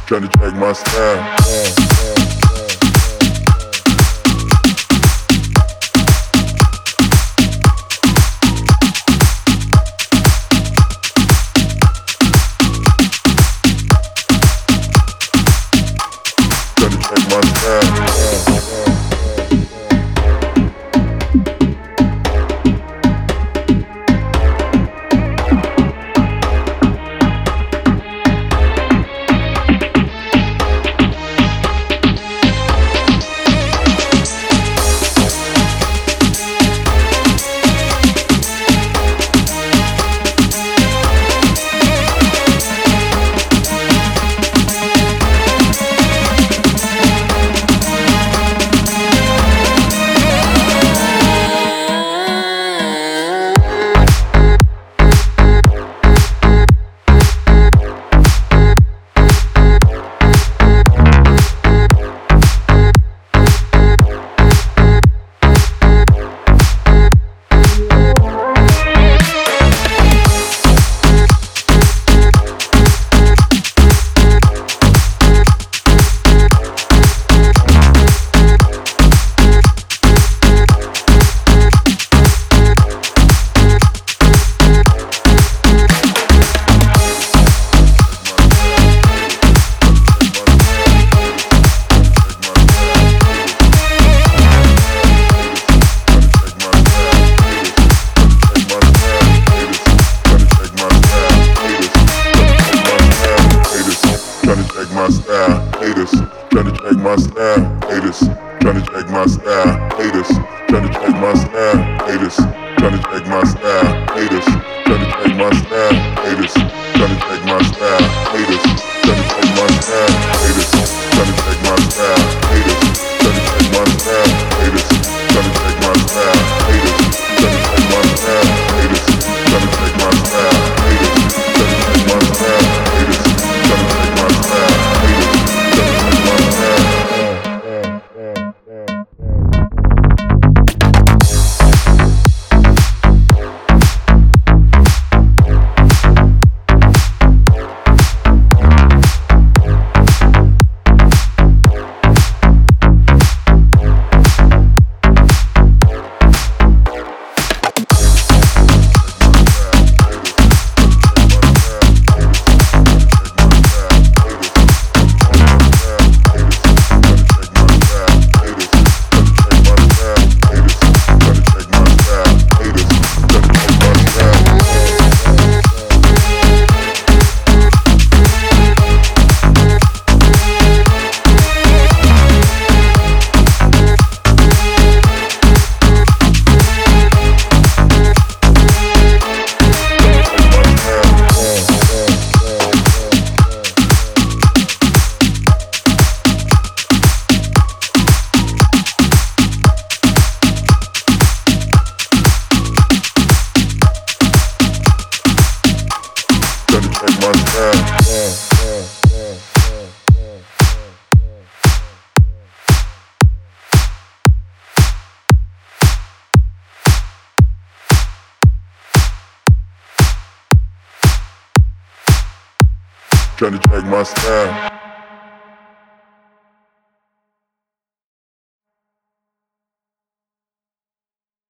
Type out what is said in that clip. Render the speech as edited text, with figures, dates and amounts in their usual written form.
tryna check my style. Tryna check my style, haters. Tryna check my style, haters. Tryna check my style, haters. Tryna check my style, haters. Tryna check my style, haters. Tryna check my style, haters. Tryna check my style, haters. Tryna check my style, haters. Tryna check my style, haters. Tryna check my style, haters. Tryna check my style, haters. Tryna check my style, haters. Tryna check my style, haters. Tryna check my style, haters. Tryna check my style.